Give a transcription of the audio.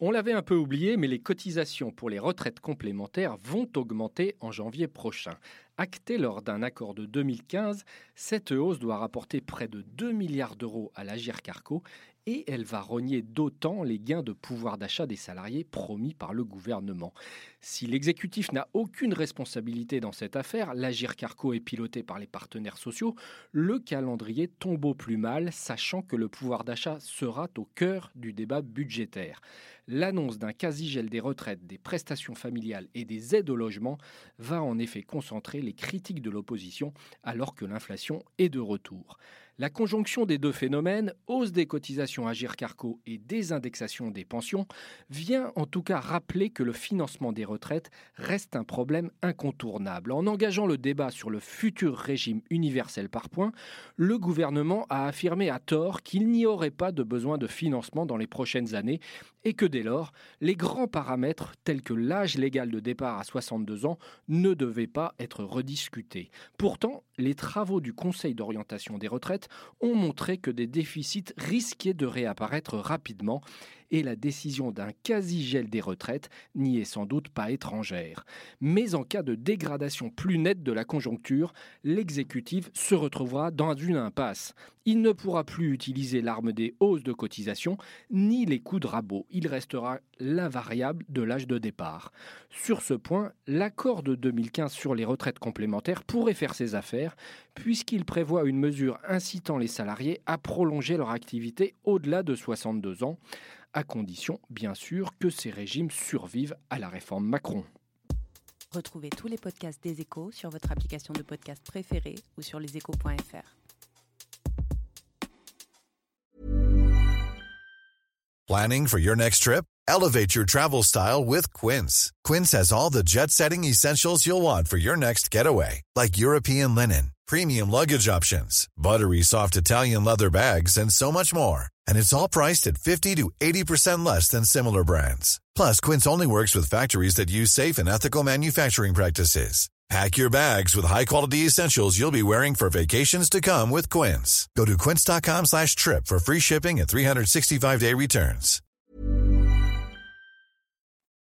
On l'avait un peu oublié, mais les cotisations pour les retraites complémentaires vont augmenter en janvier prochain. Actée lors d'un accord de 2015, cette hausse doit rapporter près de 2 milliards d'euros à l'Agirc-Arrco et elle va rogner d'autant les gains de pouvoir d'achat des salariés promis par le gouvernement. Si l'exécutif n'a aucune responsabilité dans cette affaire, l'Agirc-Arrco est piloté par les partenaires sociaux, le calendrier tombe au plus mal, sachant que le pouvoir d'achat sera au cœur du débat budgétaire. L'annonce d'un quasi-gel des retraites, des prestations familiales et des aides au logement va en effet concentrer les critiques de l'opposition alors que l'inflation est de retour. La conjonction des deux phénomènes, hausse des cotisations Agirc-Arrco et désindexation des pensions, vient en tout cas rappeler que le financement des retraites reste un problème incontournable. En engageant le débat sur le futur régime universel par points, le gouvernement a affirmé à tort qu'il n'y aurait pas de besoin de financement dans les prochaines années et que dès lors, les grands paramètres tels que l'âge légal de départ à 62 ans ne devaient pas être rediscutés. Pourtant, les travaux du Conseil d'orientation des retraites ont montré que des déficits risquaient de réapparaître rapidement et la décision d'un quasi-gel des retraites n'y est sans doute pas étrangère. Mais en cas de dégradation plus nette de la conjoncture, l'exécutif se retrouvera dans une impasse. Il ne pourra plus utiliser l'arme des hausses de cotisation ni les coups de rabot. Il restera l'invariable de l'âge de départ. Sur ce point, l'accord de 2015 sur les retraites complémentaires pourrait faire ses affaires puisqu'il prévoit une mesure incitant les salariés à prolonger leur activité au-delà de 62 ans, à condition, bien sûr, que ces régimes survivent à la réforme Macron. Retrouvez tous les podcasts des Échos sur votre application de podcast préférée ou sur leséchos.fr. Planning for your next trip? Elevate your travel style with Quince. Quince has all the jet-setting essentials you'll want for your next getaway, like European linen, premium luggage options, buttery soft Italian leather bags, and so much more. And it's all priced at 50 to 80% less than similar brands. Plus, Quince only works with factories that use safe and ethical manufacturing practices. Pack your bags with high-quality essentials you'll be wearing for vacations to come with Quince. Go to quince.com/trip for free shipping and 365-day returns.